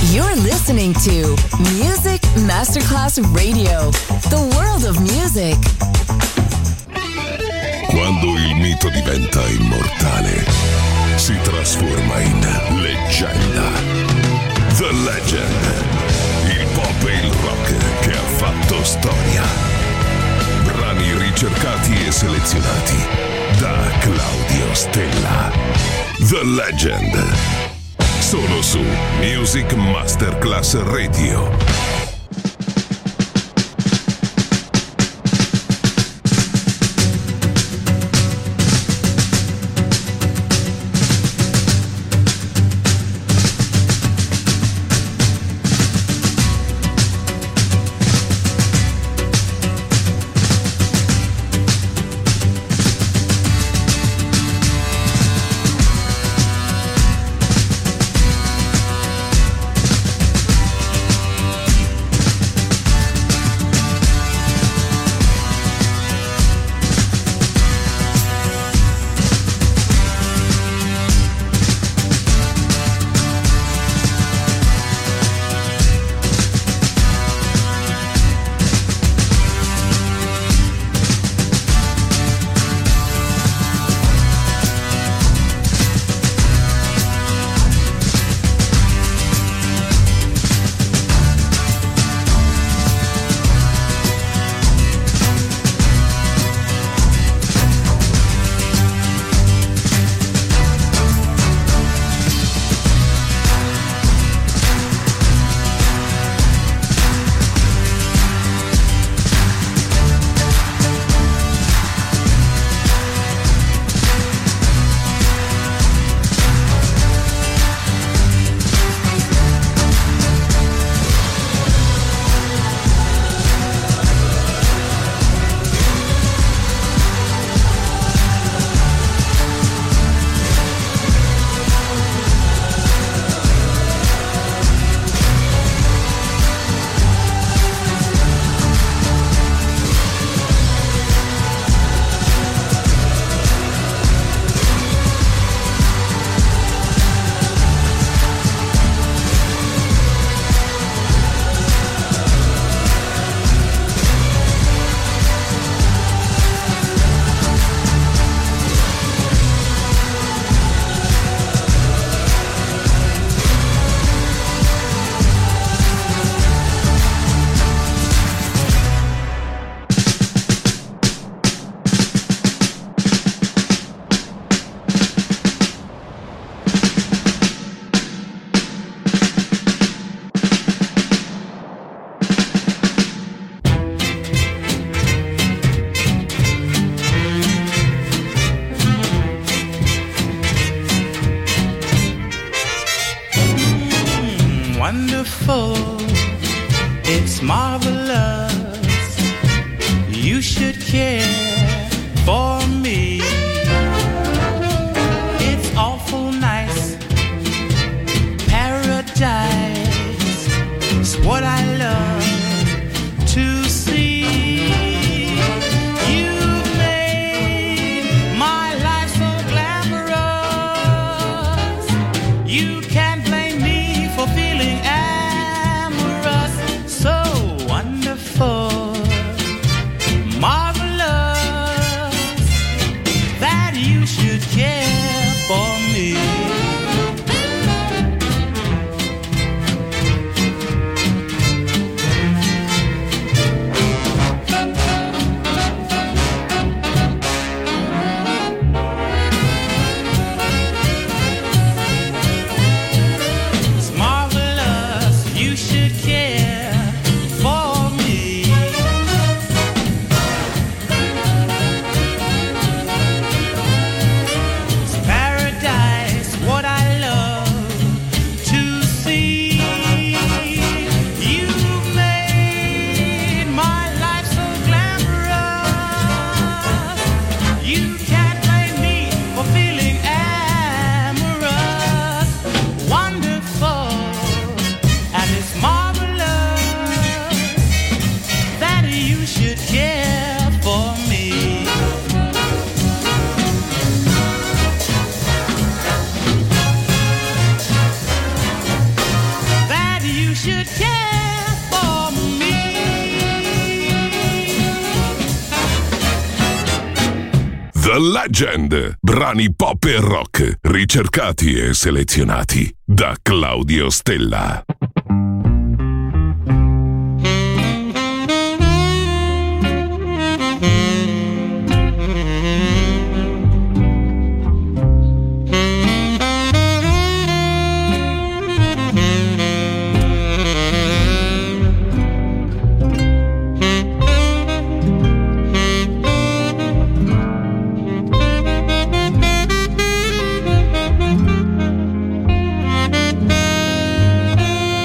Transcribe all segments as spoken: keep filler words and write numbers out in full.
You're listening to Music Masterclass Radio, the world of music. Quando il mito diventa immortale, si trasforma in leggenda. The Legend, il pop e il rock che ha fatto storia. Brani ricercati e selezionati da Claudio Stella. The Legend, solo su Music Masterclass Radio. Marvelous. should care for me. The Legend, brani pop e rock, ricercati e selezionati da Claudio Stella. Thank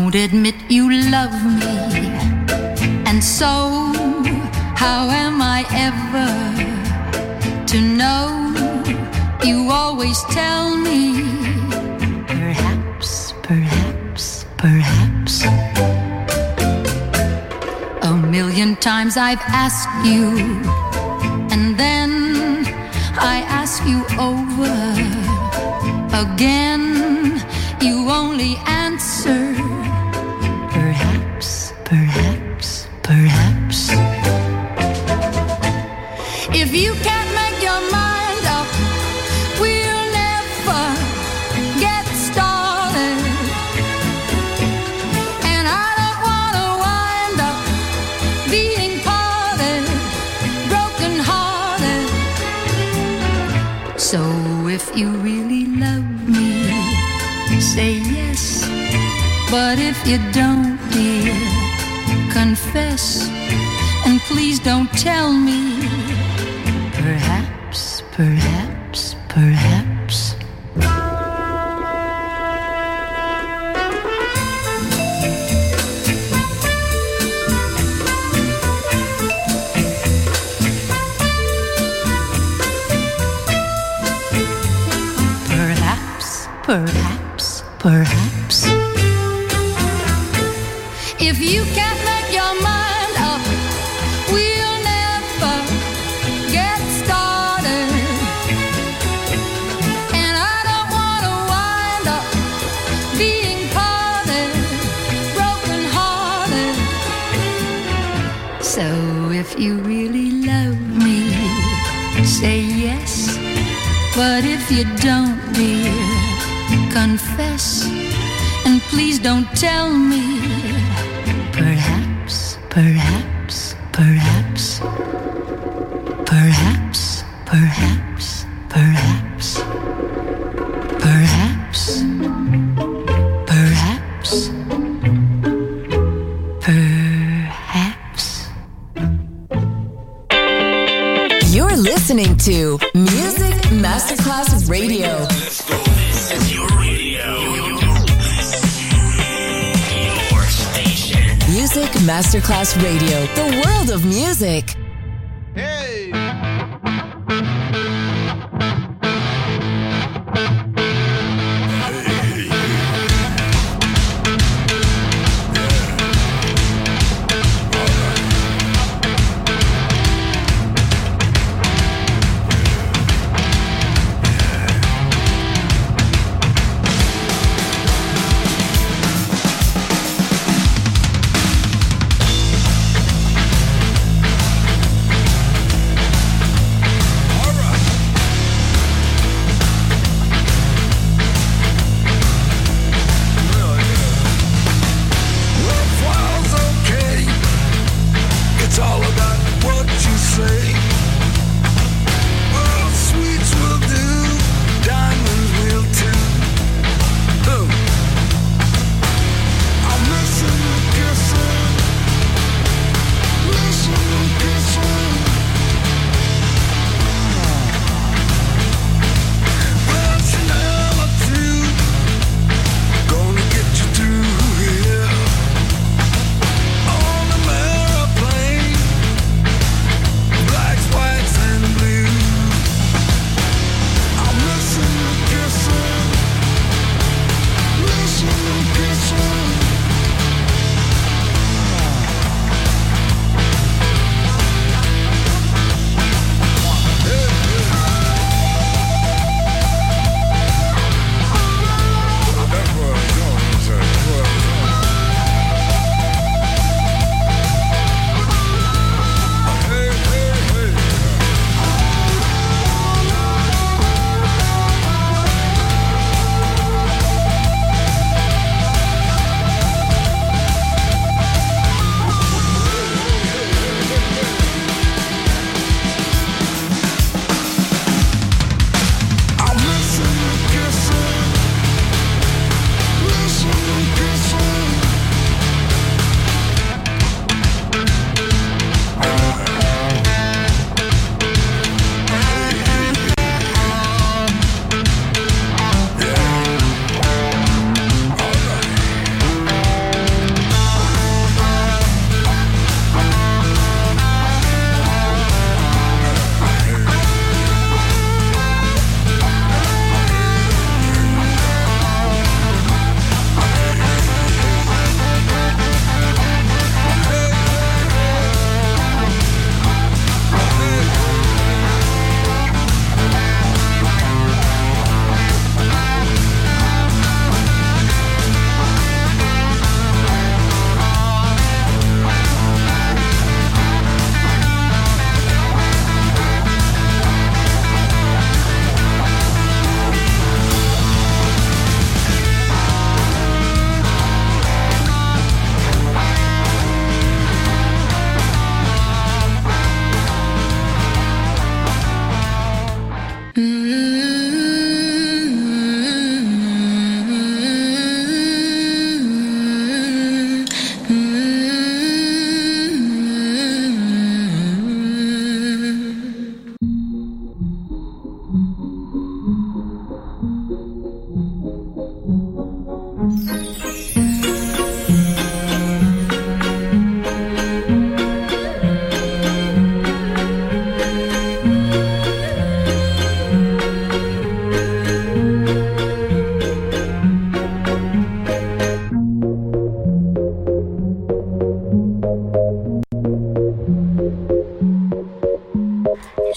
won't admit you love me, and so how am I ever to know? You always tell me, perhaps, perhaps, perhaps. A million times I've asked you, and then I ask you over again. You only answer, perhaps, perhaps, perhaps. If you can't make your mind up, we'll never get started. And I don't want to wind up being parted, broken hearted. So if you really love me, say yes. But if you don't, dear, confess. And please don't tell me, perhaps, perhaps, perhaps. Perhaps, perhaps, perhaps. If you can't make your mind up, we'll never get started. And I don't want to wind up being parted, broken hearted. So if you really love me, say yes. But if you don't, dear, confess. And please don't tell me, perhaps, perhaps, perhaps, perhaps, perhaps, perhaps, perhaps, perhaps, perhaps. You're listening to Music Masterclass Radio. Let's go. This is your radio. Your station. Music Masterclass Radio. The world of music. Hey!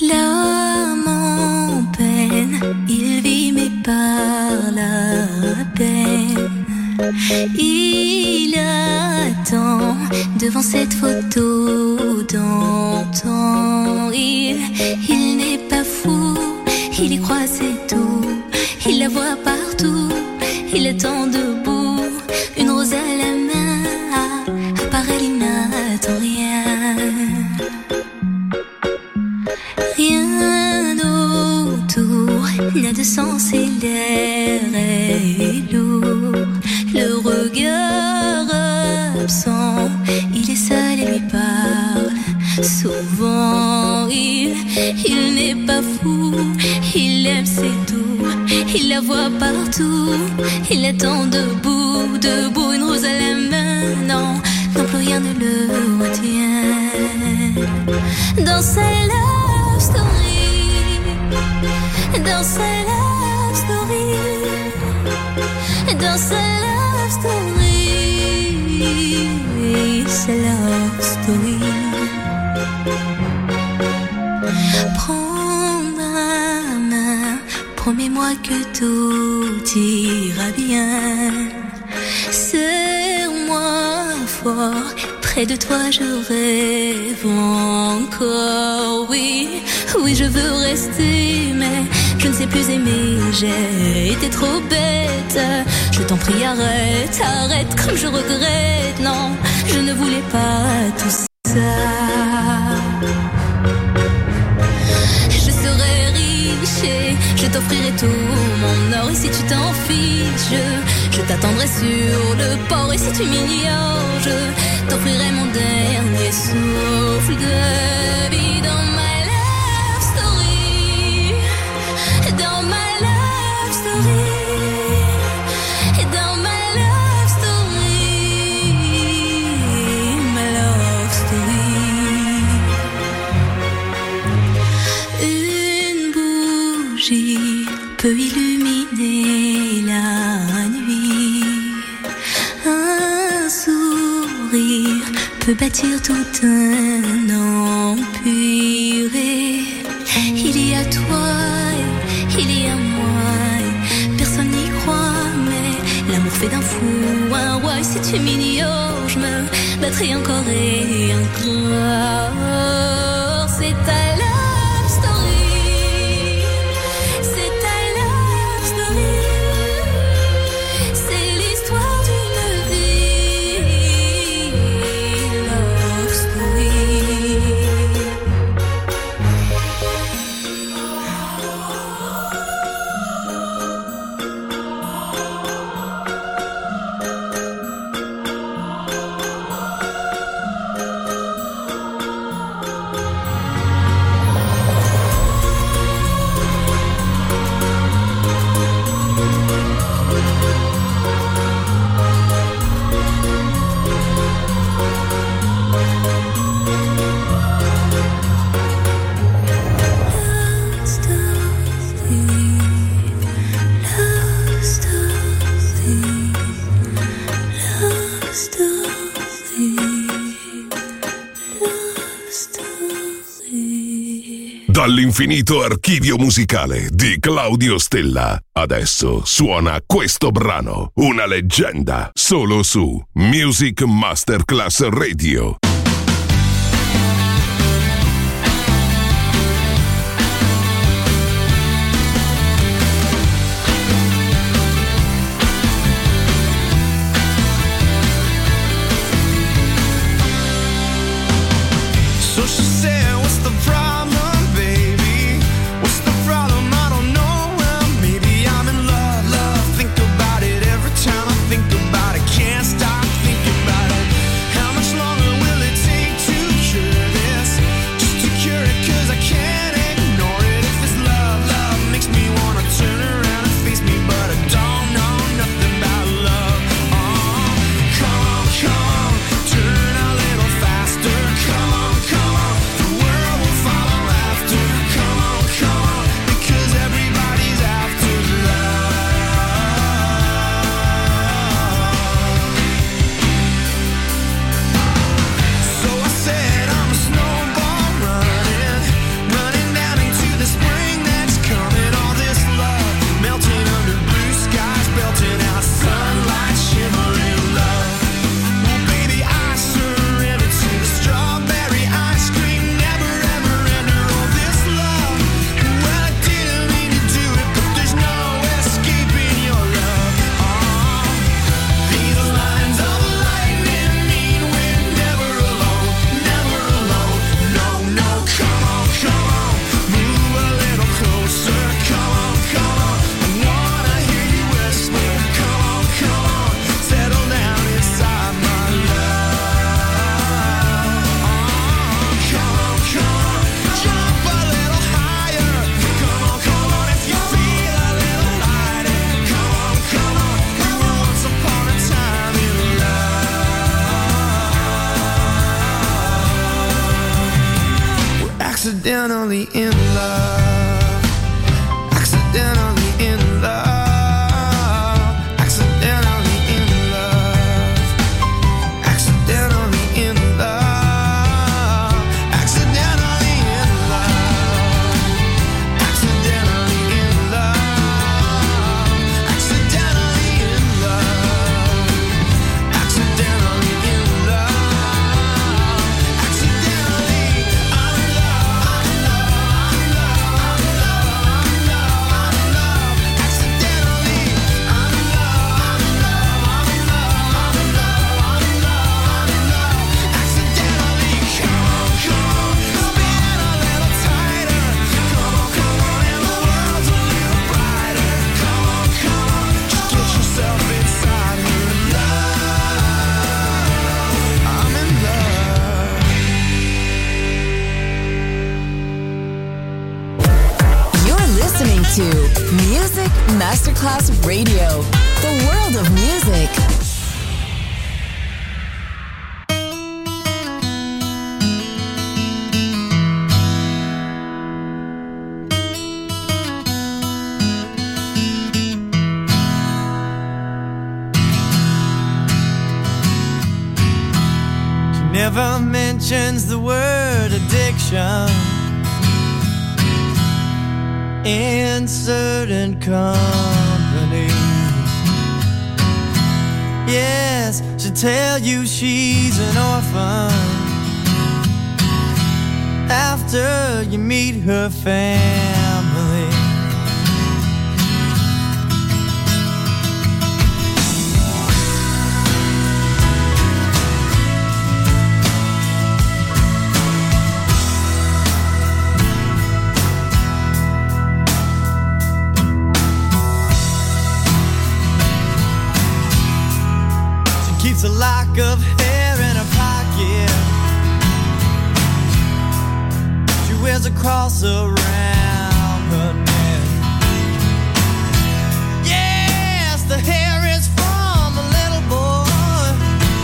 L'homme en peine, il vit mais par la peine. Il attend devant cette photo d'antan. Il, il n'est pas fou, il y croit c'est tout. Il la voit partout, il attend debout. Une rose à la main, à part elle il n'attend rien. Rien autour n'a de sens et l'air est lourd. Le regard absent, il est seul et lui parle souvent. Il, il n'est pas fou, il aime c'est tout. Il la voit partout, il attend debout, debout, une rose à la main. Non, non plus rien ne le retient. Dans sa love story, dans sa love story, dans sa love story, sa love story. Prends ma main, promets-moi que tout ira bien. Serre-moi fort, près de toi je rêve encore. Oui, oui je veux rester, mais je ne sais plus aimer. J'ai été trop bête. Je t'en prie arrête, arrête comme je regrette. Non, je ne voulais pas tout ça. Je serai riche et je t'offrirai tout mon or. Et si tu t'en fiches, je, je t'attendrai sur le port. Et si tu m'ignores, je t'offrirai mon dernier souffle de vie. Dans ma love story, dans ma love story, dans ma love story, ma love story. Une bougie peut illuminer la nuit. Un sourire peut bâtir tout un empire. Il y a toi, il y a moi. Personne n'y croit, mais l'amour fait d'un fou un roi. Et si tu m'ignores, je me battrai encore et encore. C'est ta love story, c'est ta love story. C'est l'histoire d'une vie, love story. Dall'infinito archivio musicale di Claudio Stella, adesso suona questo brano, una leggenda, solo su Music Masterclass Radio. Think about it, can't stop thinking about it. How much longer will it accidentally in love, accidentally in love, accidentally in love, accidentally in love, accidentally in love, accidentally in love, accidentally in love, accidentally in love, accidentally I'm in love, I'm in love, I'm in love, I'm in love, I'm in love, accidentally I'm in love, I'm in love, I'm in love, I'm in love, I'm in love, I'm in love, accidentally. Come on, come on, spin a little tighter. Come on, come on, and the world's a little brighter. Come on, come on, just get yourself inside her love. I'm in love. You're listening to Music Masterclass Radio, the world of music. She never mentions the word addiction in certain company. Yes, she'll tell you she's an orphan after you meet her family. Keeps a lock of hair in her pocket. She wears a cross around her neck. Yes, the hair is from a little boy,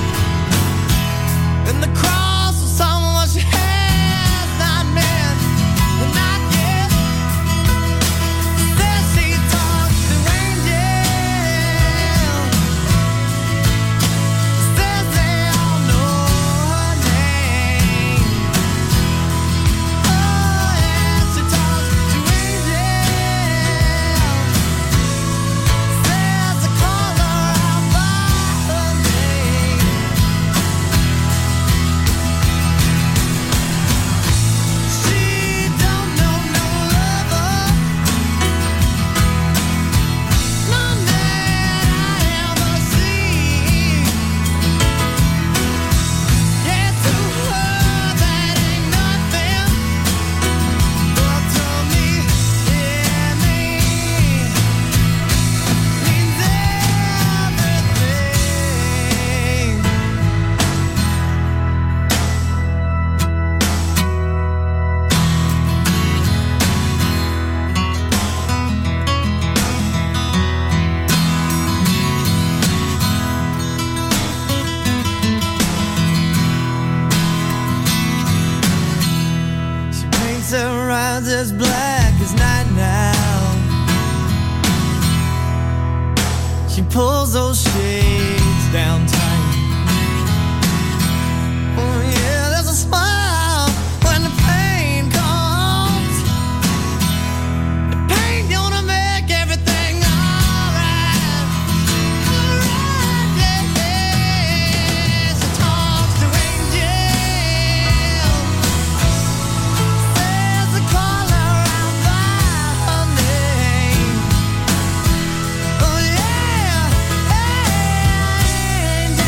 and the cross is someone she has not met, not yet. Says she talks to angels, says they all know her name. Oh yes, she talks to angels, says they call her out by her name. She don't know no lover, none that I ever seen. Yeah, to her that ain't nothing, but to me it means means everything. She paints her eyes as black as night now. She pulls those shades down tight. Oh yeah, there's a smile when the pain comes. The pain gonna make everything alright. Alright, yeah, yeah. She talks to angels, says they call her out by her name. Oh yeah, angels.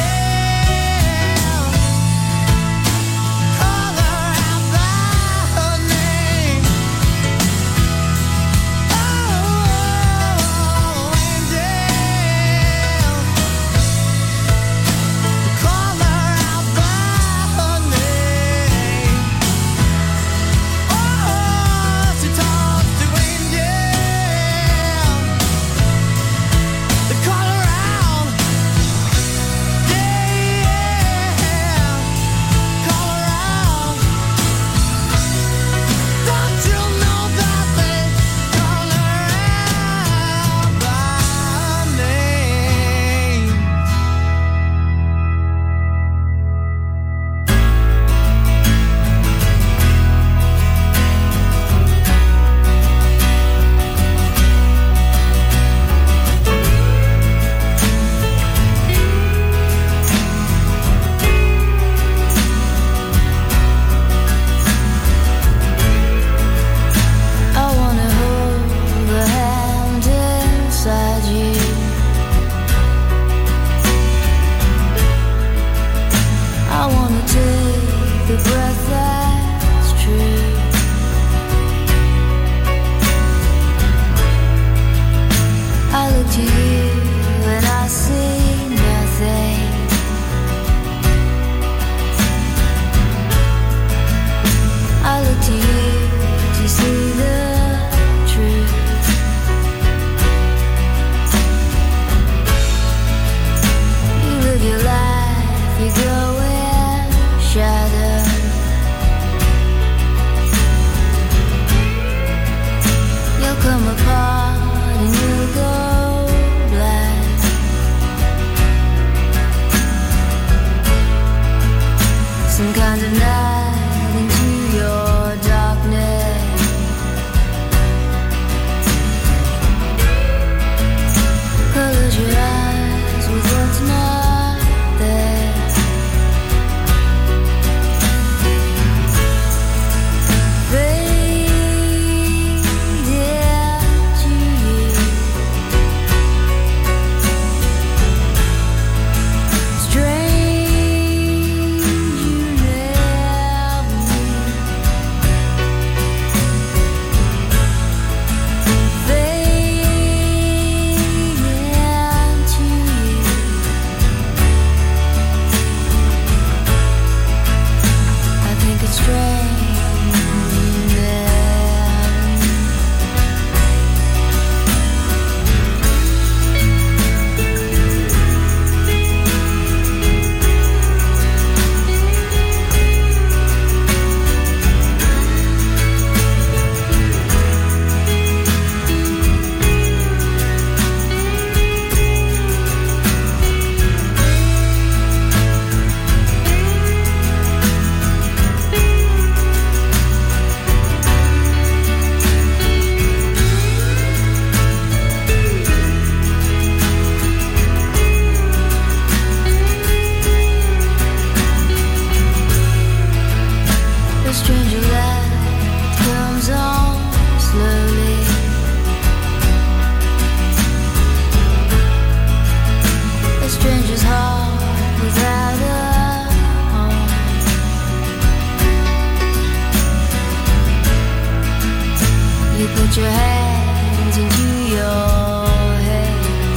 put your hands into your head.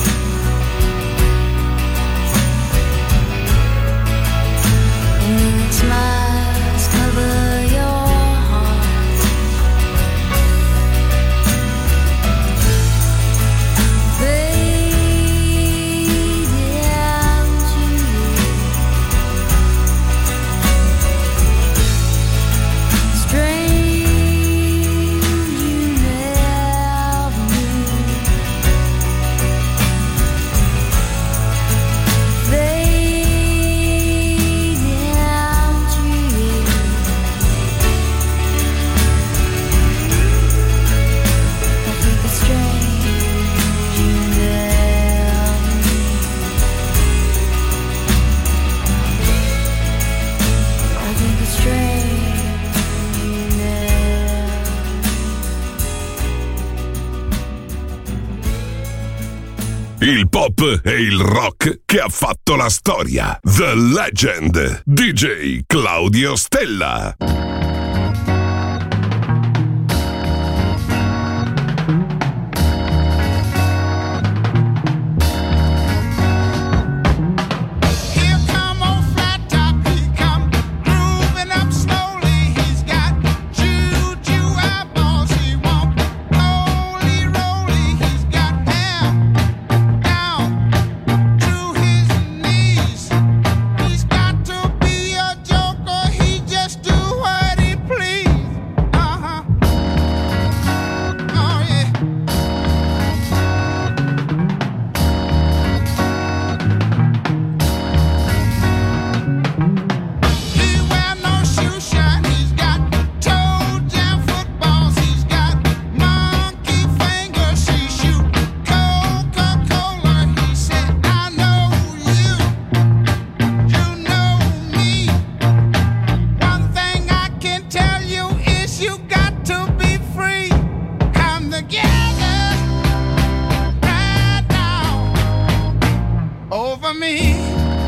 And then smiles cover your heart. Fade down to you. Strange you never knew. Fade down to you. I think it's strange you never knew. I think it's strange you never. Il pop e il rock che ha fatto la storia. The Legend. D J Claudio Stella. Here come old flat top, he come grooving up slowly. He's got juju eyeballs, he won't roly roly. He's got hair down to his knees. He's got to be a joker, he just do what he please. Uh-huh. Oh yeah. He wear no shoe shine. He's got toe jam footballs. He's got monkey fingers. He shoot Coca-Cola. He said, I know you. You know me. One thing I can tell you is you got to be free. Come together right now over me.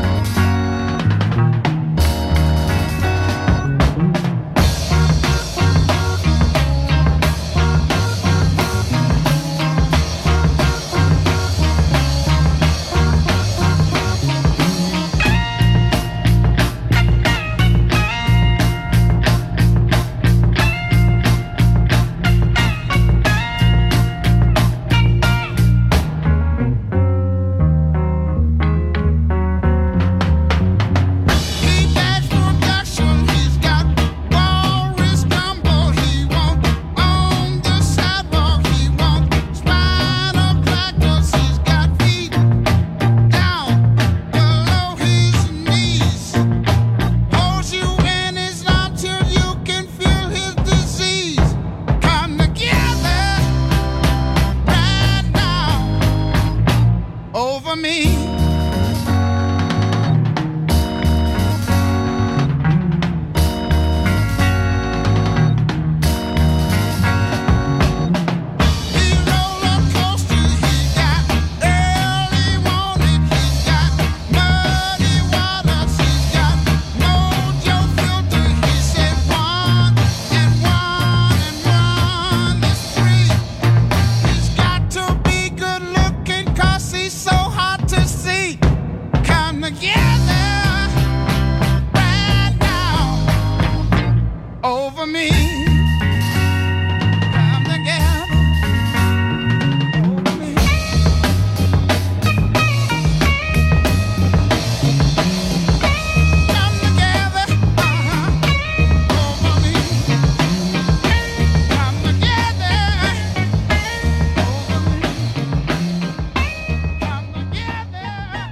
He backs production. He's got walrus gumbo. He won't on the sidewalk. He won't spider platters. He's got feet down below his knees. Holds you in his arms till you can feel his disease. Come together right now over me. He roller coasters. He's got early warning. He's got muddy waters. He's got mojo filter. He said one and one and one is three. He's got to be good looking 'cause he's so hard to see. Come together right now over me. Come together over me. Come together, uh-huh, over me. Come together over me. Come together.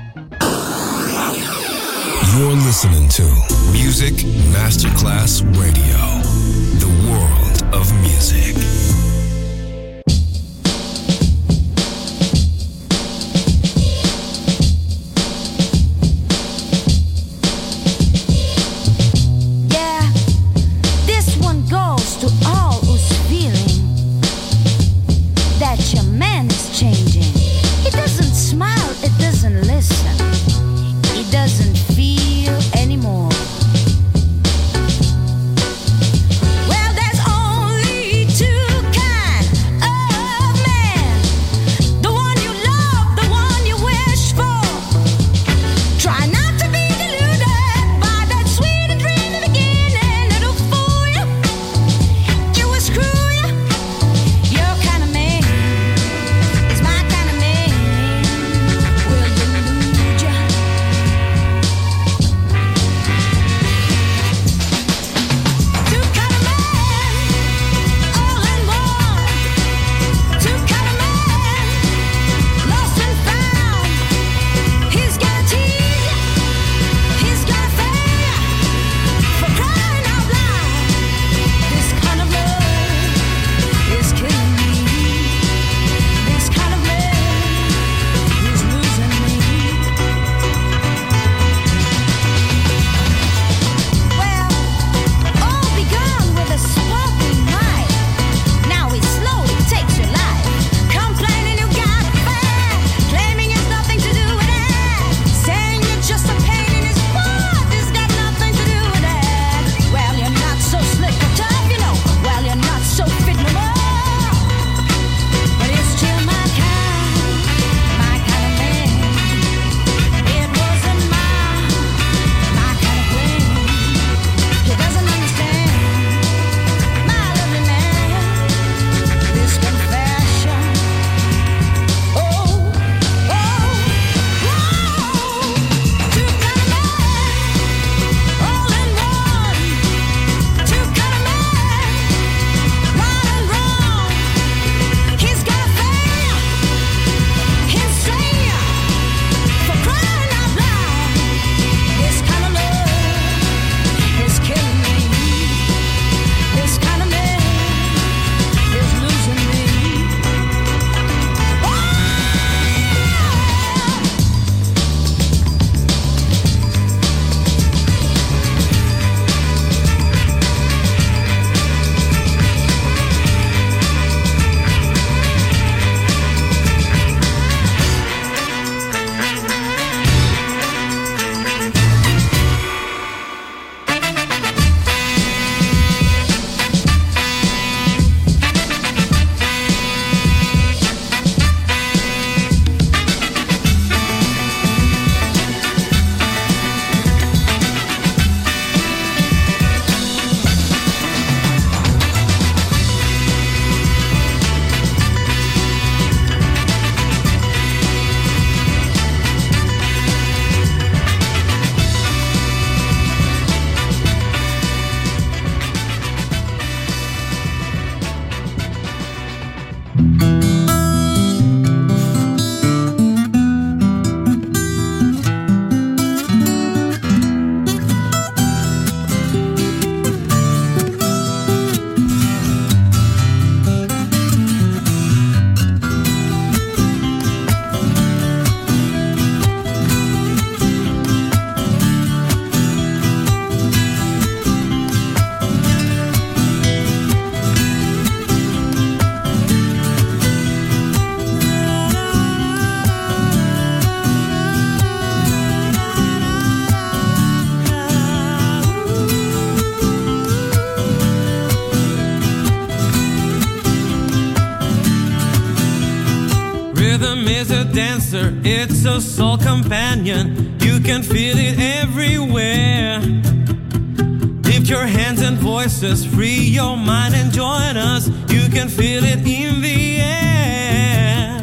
You're listening to Music Masterclass Radio. The world of music. Yeah, this one goes to all who's feeling that your man is changing. He doesn't smile, it doesn't listen, he doesn't feel anymore. Well, there's only Rhythm is a dancer, it's a soul companion. You can feel it everywhere. Lift your hands and voices, free your mind and join us. You can feel it in the air.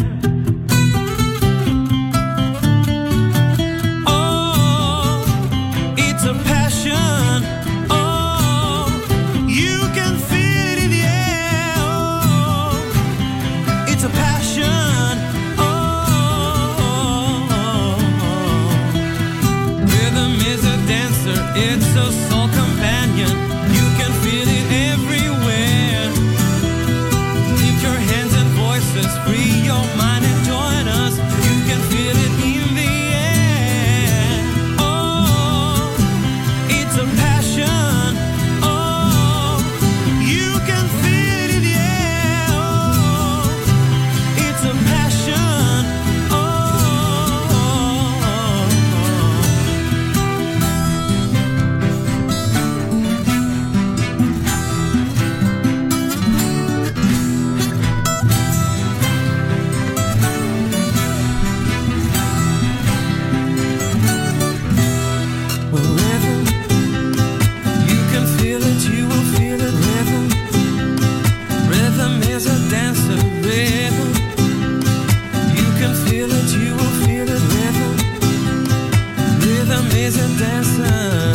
Oh, it's a passion. Oh, you can feel it in the air. Oh, it's a passion. Oh, rhythm is a dancer, it's a soul companion. You can feel it everywhere. Lift your hands and voices, free your mind and join us. You can feel it in the air. Oh, it's a passion. Oh, you can feel it in the air. Oh, it's a passion. Rhythm, you can feel it, you will feel it. Rhythm, rhythm is a dancer. Rhythm, you can feel it, you will feel it. Rhythm, rhythm is a dancer.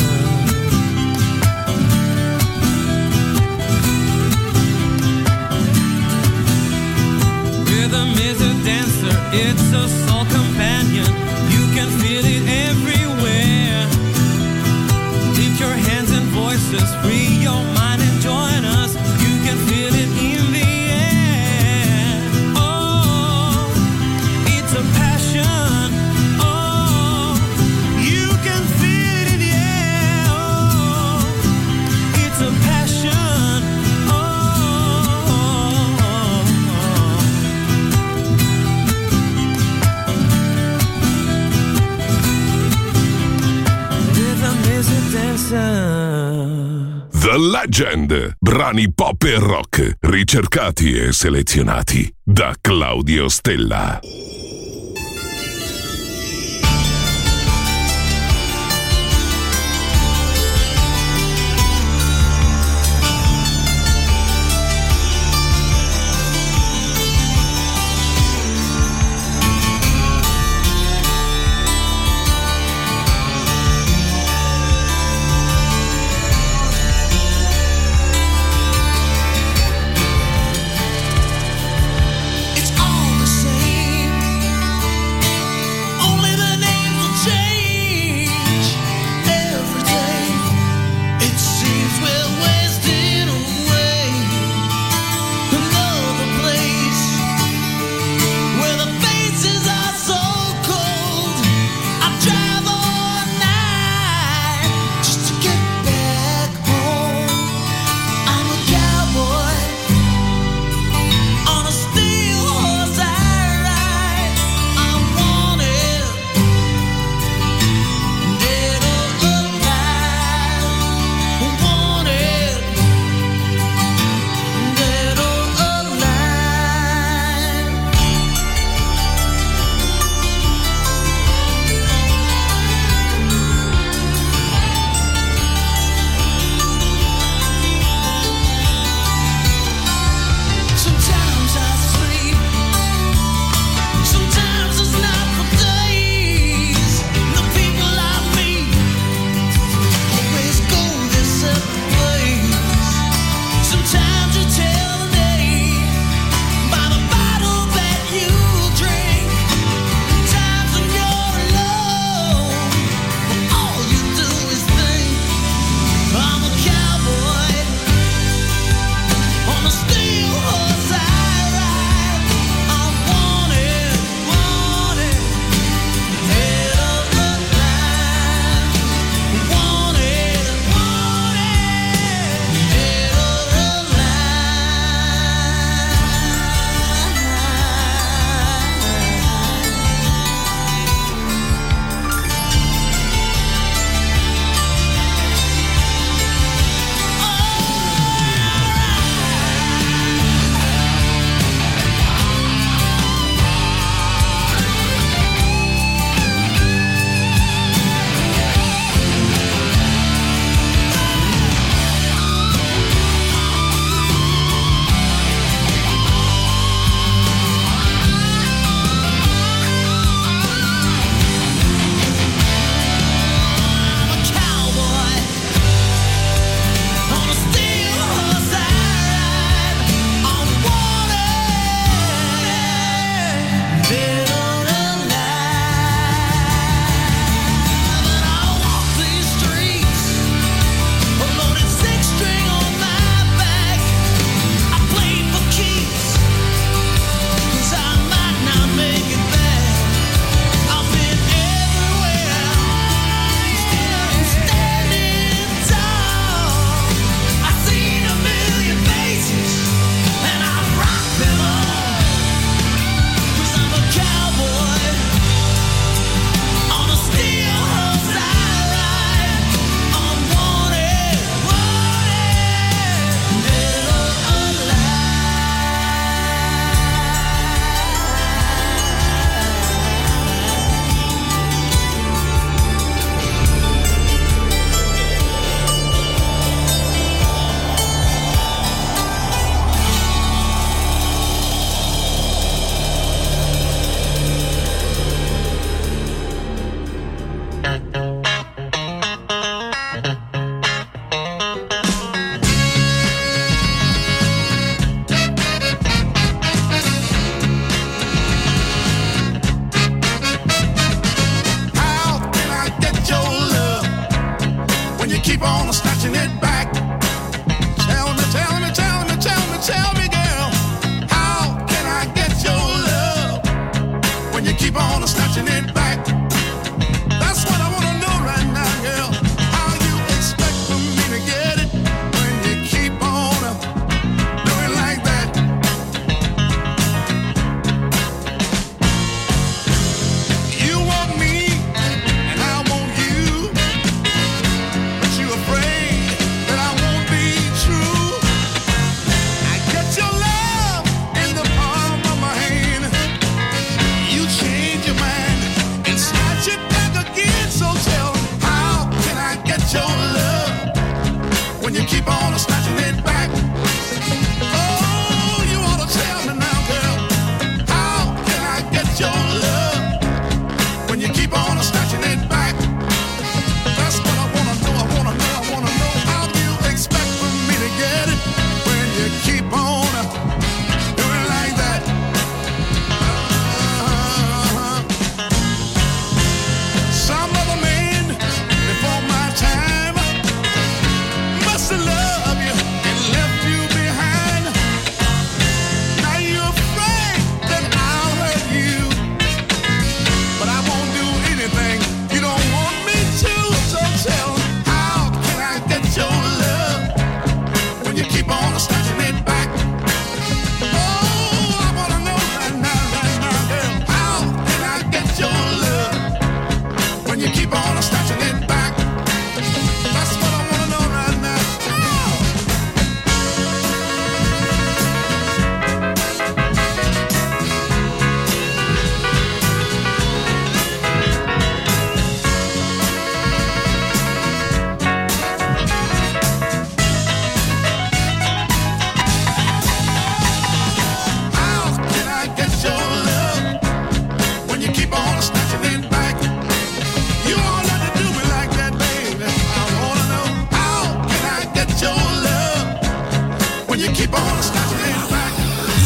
Rhythm is a dancer, it's a soul companion. You can feel it everywhere. Lift your hands and voices, free your mind and join us. You can feel it in the air. Oh, it's a passion. Oh, you can feel it in the air. Oh, it's a passion. Rhythm is a dancer. The Legend, brani pop e rock, ricercati e selezionati da Claudio Stella. It's all the same.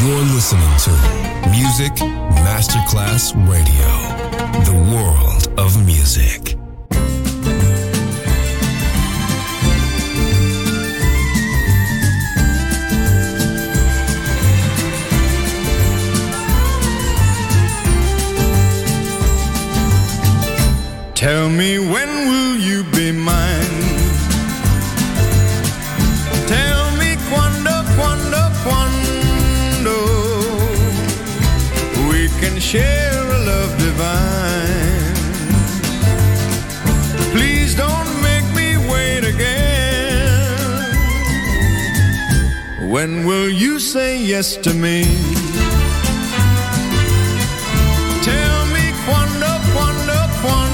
You're listening to Music Masterclass Radio, the world of music. Tell me, when will you be mine? Tell me quando, quando, quando we can share a love divine. Please don't make me wait again. When will you say yes to me? Tell me quando, quando, quando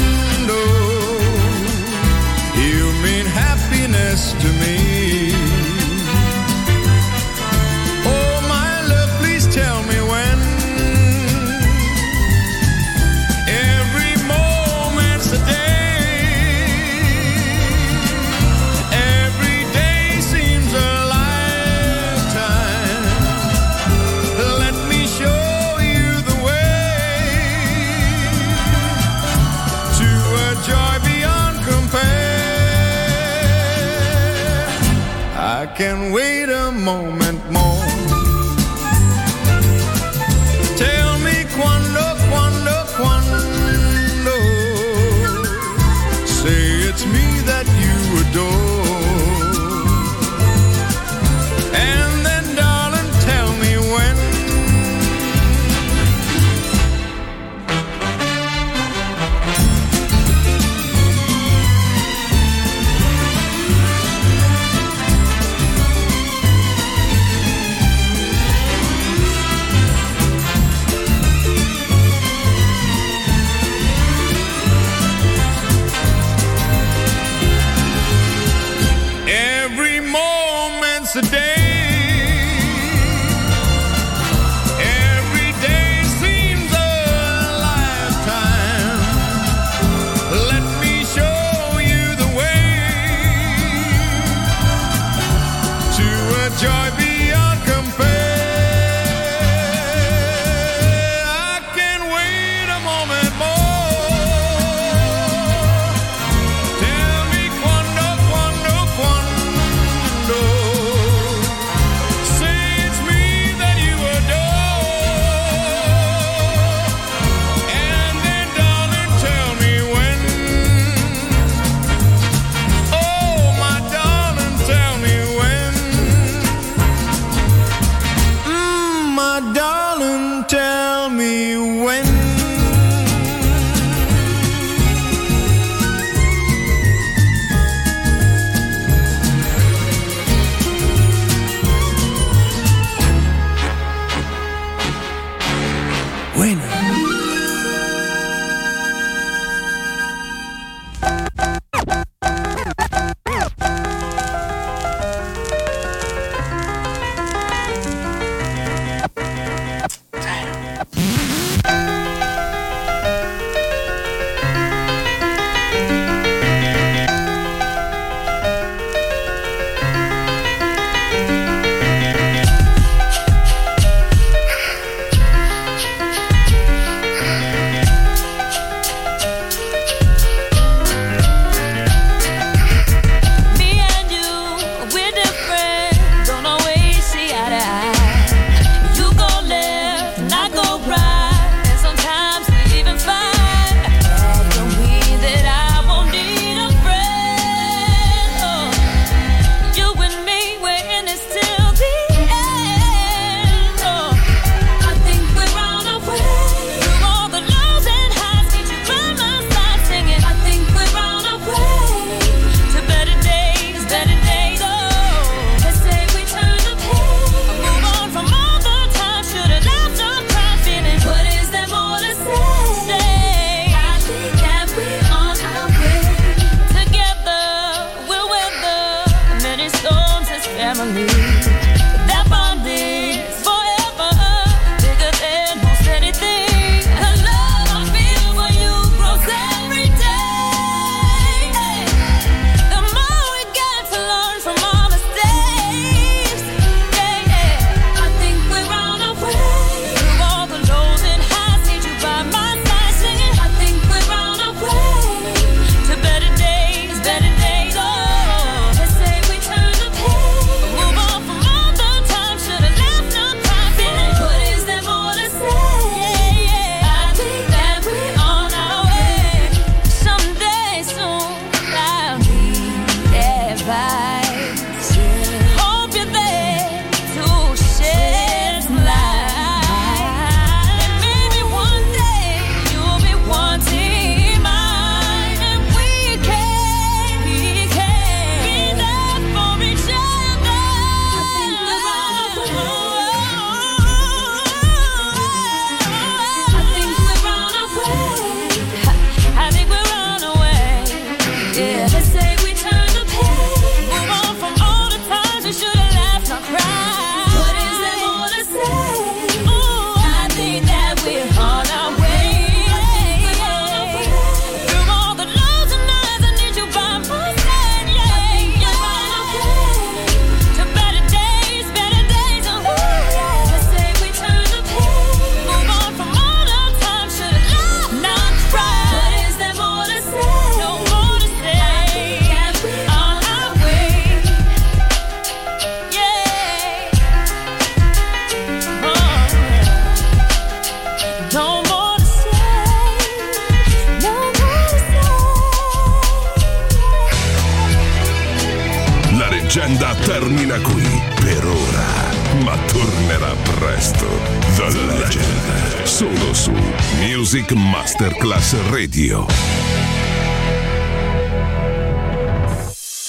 you mean happiness to me. Oh my love, please tell me when. Every moment's a day. Every day seems a lifetime. Let me show you the way to a joy beyond compare. I can wait a moment more. Tell me quando, quando, quando. Say it's me that you adore. And then, darling, tell me when. Every moment's a day. Every day seems a lifetime. Let me show you the way to a joy beyond compare. I can wait a moment more. Tell me quando, quando, quando. Say it's me that you adore. And then, darling, tell me when. Oh, my darling, tell me when. Mm, my darling, tell me when. leggenda termina qui per ora, ma tornerà presto. The Legend, solo su Music Masterclass Radio.